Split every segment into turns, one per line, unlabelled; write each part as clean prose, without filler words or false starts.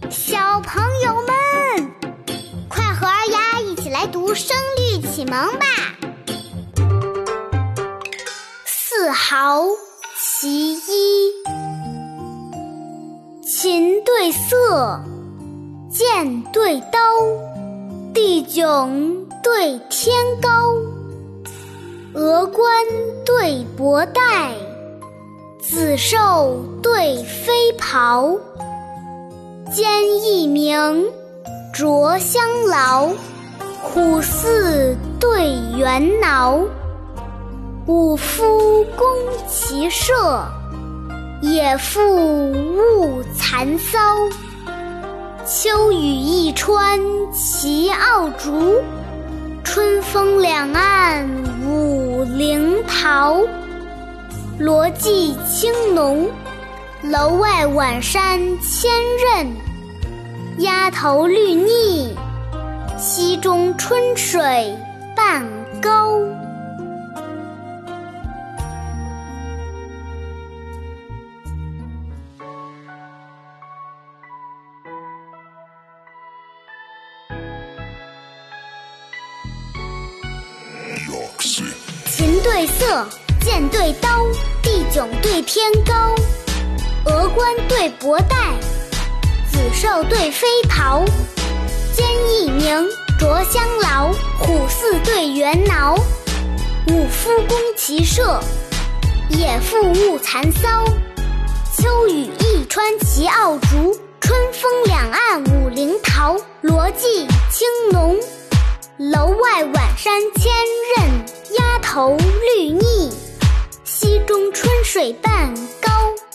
小朋友们，快和二丫一起来读声律启蒙吧。4毫其一，琴对瑟，剑对刀，地迥对天高。峨冠对博带，紫绶对飞袍。坚毅明，着相劳，虎似对猿挠。武夫攻其射，野妇误蚕搔。秋雨一川其傲竹，春风两岸五陵桃。罗髻青浓，楼外晚山千仞。鸦头绿腻，溪中春水半高。琴对瑟，剑对刀，地迥对天高。峨冠对博带，紫绶对飞袍。坚毅明，着相劳，虎似对猿挠。武夫攻其射，野妇误蚕搔。秋雨一川其傲竹，春风两岸五陵桃。罗髻青浓，楼外晚山千仞。鸦头绿腻，溪中春水半高。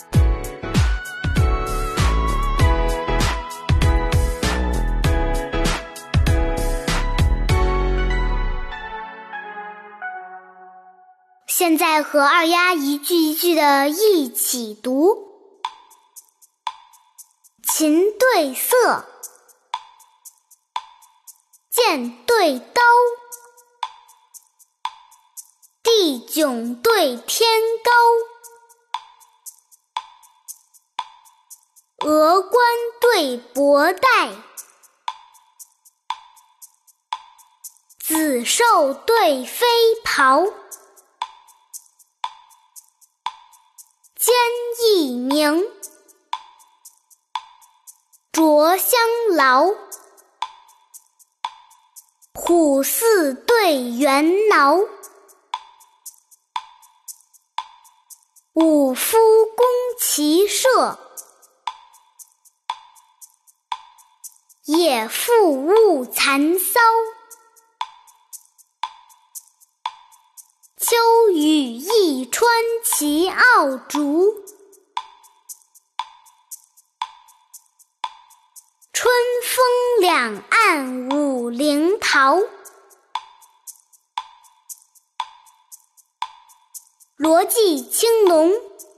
现在和二丫一句一句的一起读。琴对瑟，剑对刀，地迥对天高。峨冠对博带，紫绶对飞袍。坚毅明，着相劳，虎似对猿挠。武夫攻其射，野妇误蚕搔。秋雨一川其傲竹，春风两岸五陵桃。罗髻青浓，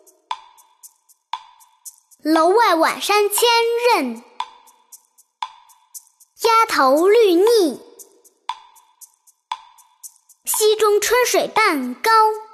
楼外晚山千仞。鸦头绿腻，溪中春水半高。